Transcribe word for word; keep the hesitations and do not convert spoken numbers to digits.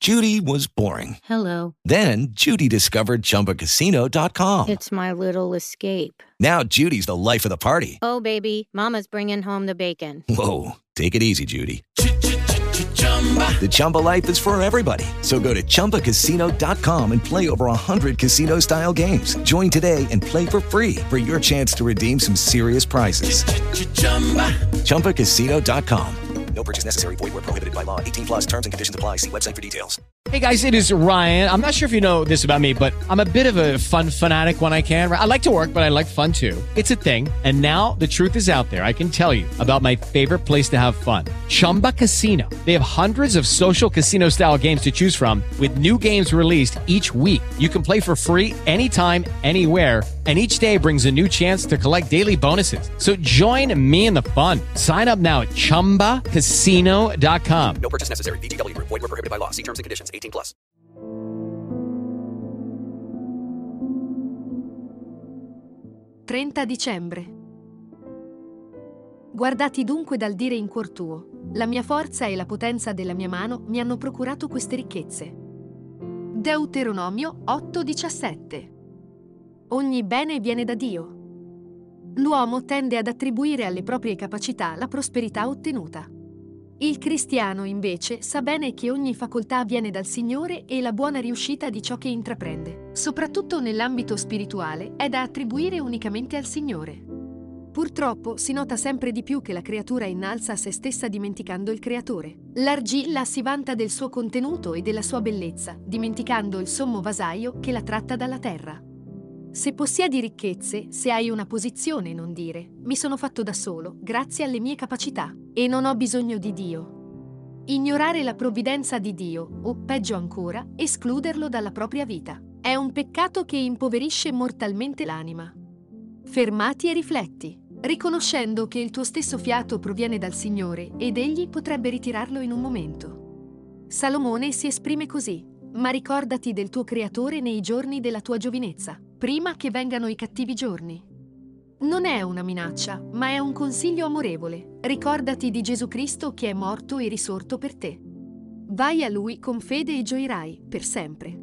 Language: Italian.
Judy was boring. Hello. Then Judy discovered Chumba Casino dot com. It's my little escape. Now Judy's the life of the party. Oh, baby, mama's bringing home the bacon. Whoa, take it easy, Judy. The Chumba life is for everybody. So go to Chumba Casino dot com and play over one hundred casino-style games. Join today and play for free for your chance to redeem some serious prizes. Chumba Casino dot com. No purchase necessary. Void where prohibited by law. eighteen plus terms and conditions apply. See website for details. Hey guys, it is Ryan. I'm not sure if you know this about me, but I'm a bit of a fun fanatic when I can. I like to work, but I like fun too. It's a thing. And now the truth is out there. I can tell you about my favorite place to have fun. Chumba Casino. They have hundreds of social casino style games to choose from with new games released each week. You can play for free anytime, anywhere. And each day brings a new chance to collect daily bonuses. So join me in the fun. Sign up now at Chumba Casino dot com. No purchase necessary. V G W Group. Void where prohibited by law. See terms and conditions. eighteen plus. trenta dicembre. Guardati dunque dal dire in cuor tuo: la mia forza e la potenza della mia mano mi hanno procurato queste ricchezze. Deuteronomio otto diciassette. Ogni bene viene da Dio. L'uomo tende ad attribuire alle proprie capacità la prosperità ottenuta. Il cristiano, invece, sa bene che ogni facoltà viene dal Signore e la buona riuscita di ciò che intraprende, soprattutto nell'ambito spirituale, è da attribuire unicamente al Signore. Purtroppo si nota sempre di più che la creatura innalza se stessa dimenticando il Creatore. L'argilla si vanta del suo contenuto e della sua bellezza, dimenticando il sommo vasaio che la tratta dalla terra. Se possiedi ricchezze, se hai una posizione, non dire: mi sono fatto da solo, grazie alle mie capacità, e non ho bisogno di Dio. Ignorare la provvidenza di Dio, o peggio ancora, escluderlo dalla propria vita, è un peccato che impoverisce mortalmente l'anima. Fermati e rifletti, riconoscendo che il tuo stesso fiato proviene dal Signore ed Egli potrebbe ritirarlo in un momento. Salomone si esprime così: ma ricordati del tuo Creatore nei giorni della tua giovinezza, prima che vengano i cattivi giorni. Non è una minaccia, ma è un consiglio amorevole. Ricordati di Gesù Cristo che è morto e risorto per te. Vai a Lui con fede e gioirai per sempre.